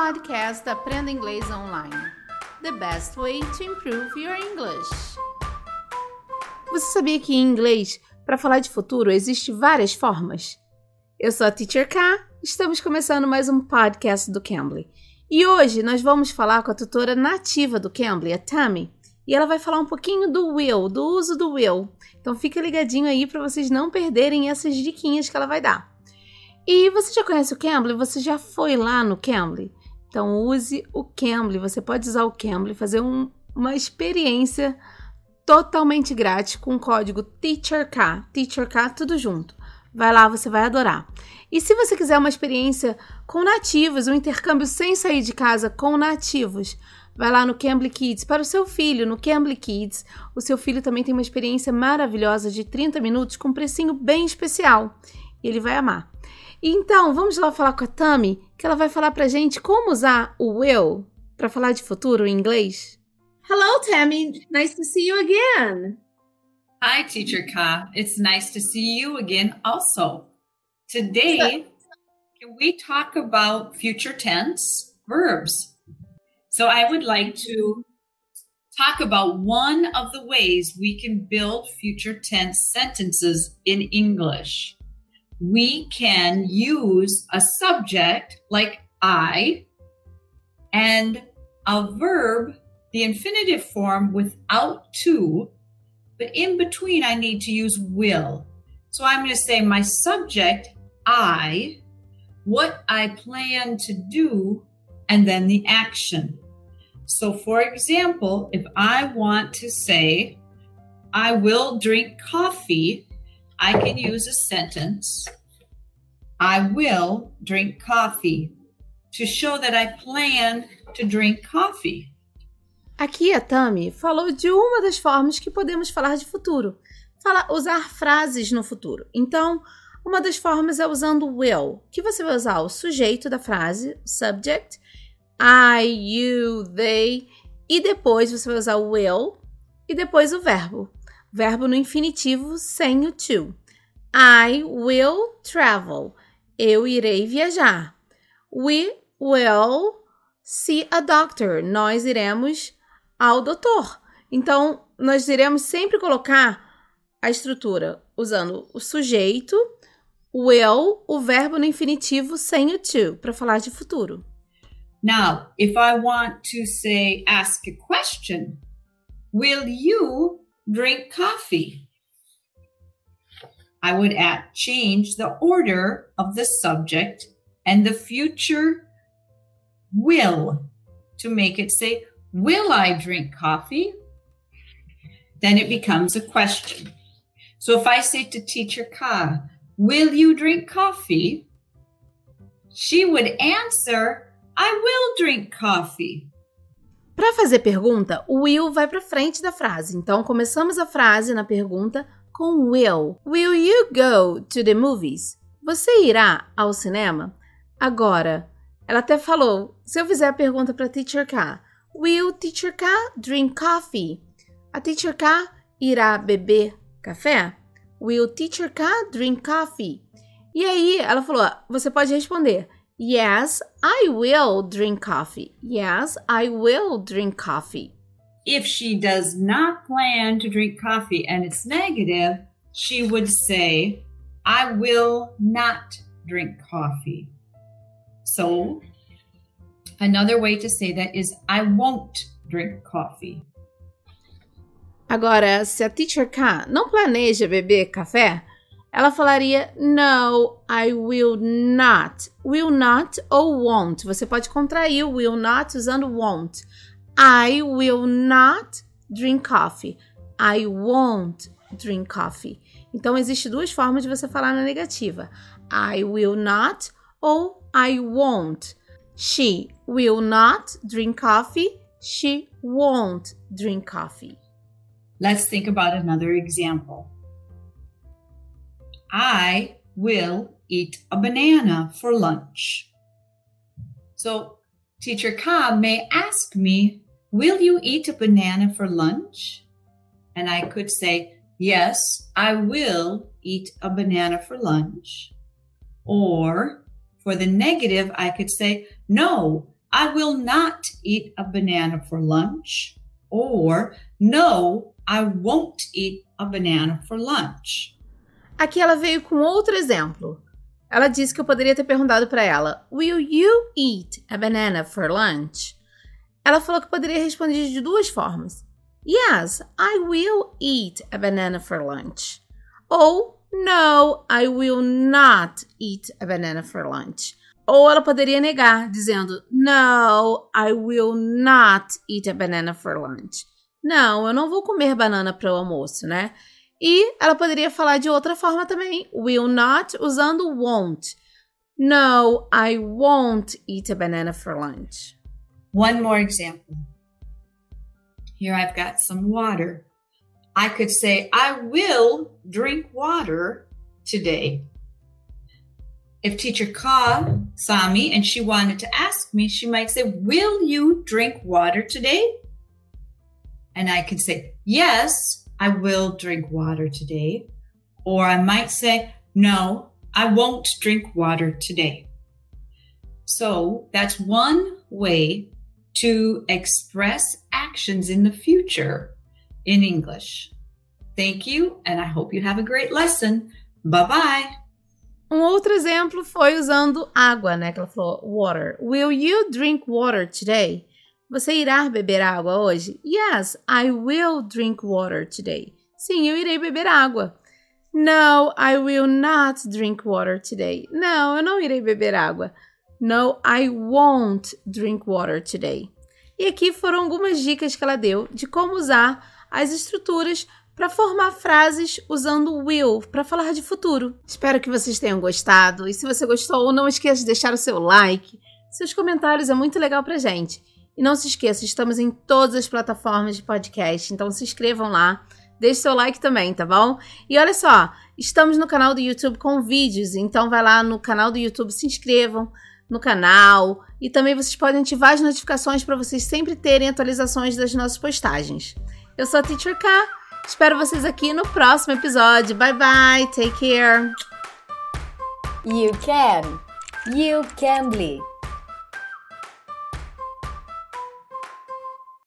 podcast Aprenda Inglês Online. The best way to improve your English. Você sabia que em inglês, para falar de futuro, existem várias formas? Eu sou a Teacher K, estamos começando mais um podcast do Cambly. E hoje nós vamos falar com a tutora nativa do Cambly, a Tammy, e ela vai falar um pouquinho do will, do uso do will. Então fica ligadinho aí para vocês não perderem essas diquinhas que ela vai dar. E você já conhece o Cambly? Você já foi lá no Cambly? Então use o Cambly, você pode usar o Cambly, fazer uma experiência totalmente grátis com o código TEACHERK, tudo junto. Vai lá, você vai adorar. E se você quiser uma experiência com nativos, um intercâmbio sem sair de casa com nativos, vai lá no Cambly Kids, para o seu filho, no Cambly Kids. O seu filho também tem uma experiência maravilhosa de 30 minutos com um precinho bem especial. E ele vai amar. Então, vamos lá falar com a Tammy, que ela vai falar pra gente como usar o will para falar de futuro em inglês. Hello, Tammy. Nice to see you again. Hi, Teacher Ka. It's nice to see you again also. Today, can we talk about future tense verbs? So I would like to talk about one of the ways we can build future tense sentences in English. We can use a subject like I and a verb, the infinitive form without to, but in between I need to use will. So I'm going to say my subject, I, what I plan to do, and then the action. So for example, if I want to say, I will drink coffee, I can use a sentence, I will drink coffee, to show that I plan to drink coffee. Aqui a Tammy falou de uma das formas que podemos falar de futuro. Usar frases no futuro. Então, uma das formas é usando will, que você vai usar o sujeito da frase, subject, I, you, they, e depois você vai usar o will e depois o verbo. Verbo no infinitivo sem o to. I will travel. Eu irei viajar. We will see a doctor. Nós iremos ao doutor. Então, nós iremos sempre colocar a estrutura usando o sujeito, will, o verbo no infinitivo sem o to, para falar de futuro. Now, if I want to say, ask a question, will you drink coffee? I would change the order of the subject and the future will to make it say, will I drink coffee? Then it becomes a question. So if I say to Teacher Ka, will you drink coffee? She would answer, I will drink coffee. Para fazer pergunta, o will vai para frente da frase. Então, começamos a frase na pergunta com will. Will you go to the movies? Você irá ao cinema? Agora, ela até falou, se eu fizer a pergunta para Teacher K, will Teacher K drink coffee? A Teacher K irá beber café? Will Teacher K drink coffee? E aí, ela falou, você pode responder, yes, I will drink coffee. Yes, I will drink coffee. If she does not plan to drink coffee and it's negative, she would say, I will not drink coffee. So, another way to say that is, I won't drink coffee. Agora, se a Teacher K não planeja beber café, ela falaria, no, I will not. Will not ou won't. Você pode contrair o will not usando won't. I will not drink coffee. I won't drink coffee. Então, existem duas formas de você falar na negativa. I will not ou I won't. She will not drink coffee. She won't drink coffee. Let's think about another example. I will eat a banana for lunch. So, Teacher Ka may ask me, will you eat a banana for lunch? And I could say, yes, I will eat a banana for lunch. Or, for the negative, I could say, no, I will not eat a banana for lunch. Or, no, I won't eat a banana for lunch. Aqui ela veio com outro exemplo. Ela disse que eu poderia ter perguntado para ela, will you eat a banana for lunch? Ela falou que poderia responder de duas formas. Yes, I will eat a banana for lunch. Ou, no, I will not eat a banana for lunch. Ou ela poderia negar, dizendo, no, I will not eat a banana for lunch. Não, eu não vou comer banana para o almoço, né? E ela poderia falar de outra forma também, will not, usando won't. No, I won't eat a banana for lunch. One more example. Here I've got some water. I could say, I will drink water today. If Teacher Ka saw me and she wanted to ask me, she might say, will you drink water today? And I could say, yes, I will drink water today. Or I might say, no, I won't drink water today. So that's one way to express actions in the future in English. Thank you, and I hope you have a great lesson. Bye-bye. Um outro exemplo foi usando água, né? Que ela falou, water. Will you drink water today? Você irá beber água hoje? Yes, I will drink water today. Sim, eu irei beber água. No, I will not drink water today. Não, eu não irei beber água. No, I won't drink water today. E aqui foram algumas dicas que ela deu de como usar as estruturas para formar frases usando will, para falar de futuro. Espero que vocês tenham gostado. E se você gostou, não esqueça de deixar o seu like. Seus comentários é muito legal pra gente. E não se esqueça, estamos em todas as plataformas de podcast, então se inscrevam lá. Deixe seu like também, tá bom? E olha só, estamos no canal do YouTube com vídeos, então vai lá no canal do YouTube, se inscrevam no canal. E também vocês podem ativar as notificações para vocês sempre terem atualizações das nossas postagens. Eu sou a Teacher Ka. Espero vocês aqui no próximo episódio. Bye, bye. Take care. You can. You can be.